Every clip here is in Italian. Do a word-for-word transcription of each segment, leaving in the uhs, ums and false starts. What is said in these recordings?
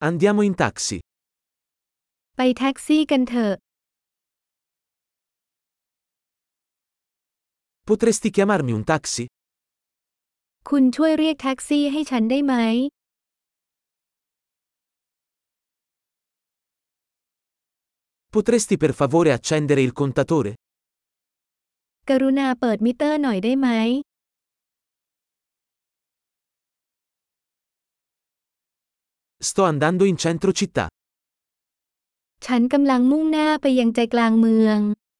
Andiamo in taxi. ไปแท็กซี่กันเถอะ Potresti chiamarmi un taxi? คุณช่วยเรียกแท็กซี่ให้ฉันได้ไหม Potresti per favore accendere il contatore? กรุณาเปิดมิเตอร์หน่อยได้ไหม Sto andando in centro città. ฉันกำลังมุ่งหน้าไปยังใจกลางเมือง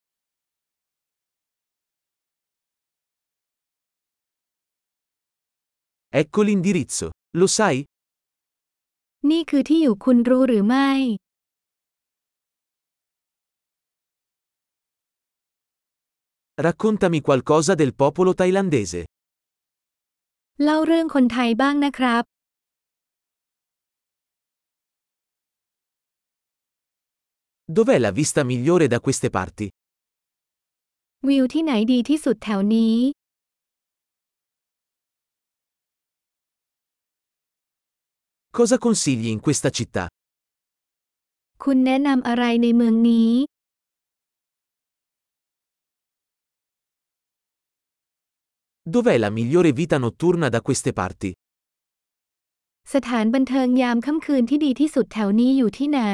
Ecco l'indirizzo. Lo sai? นี่คือที่อยู่คุณรู้หรือไม่ Raccontami qualcosa del popolo thailandese. เล่าเรื่องคนไทยบ้างนะครับ Dov'è la vista migliore da queste parti? วิวที่ไหนดีที่สุดแถวนี้ Cosa consigli in questa città? คุณแนะนำอะไรในเมืองนี้ Dov'è la migliore vita notturna da queste parti? สถานบันเทิงยามค่ำคืนที่ดีที่สุดแถวนี้อยู่ที่ไหน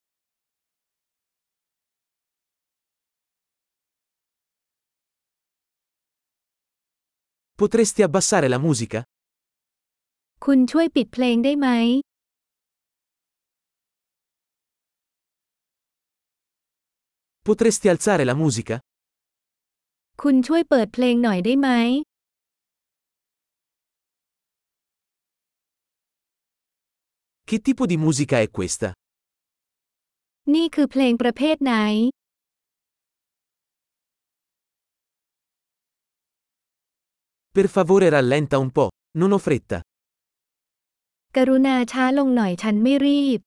Potresti abbassare la musica? คุณช่วยปิดเพลงได้ไหม Potresti alzare la musica? คุณช่วยเปิดเพลงหน่อยได้ไหม Che tipo di musica è questa? นี่คือเพลงประเภทไหน Per favore rallenta un po', non ho fretta. กรุณาช้าลงหน่อยฉันไม่รีบ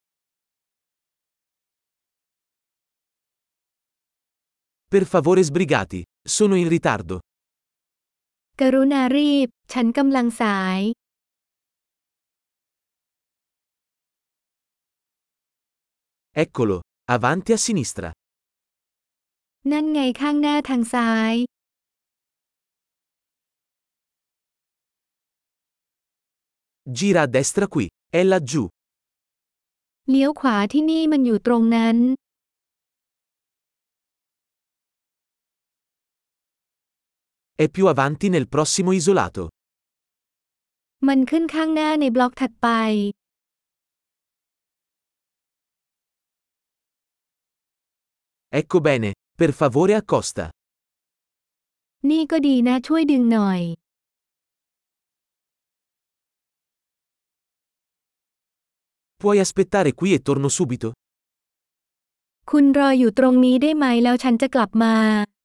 Per favore sbrigati, sono in ritardo. กรุณารีบ ฉันกำลังสาย Eccolo, avanti a sinistra. นั่นไงข้างหน้าทางซ้าย Gira a destra qui, è laggiù. เลี้ยวขวาที่นี่มันอยู่ตรงนั้น È più avanti nel prossimo isolato. มันขึ้นข้างหน้าในบล็อกถัดไป Ecco bene, per favore accosta. นี่ก็ดีนะช่วยดึงหน่อย Puoi aspettare qui e torno subito? คุณรออยู่ตรงนี้ได้ไหมแล้วฉันจะกลับมา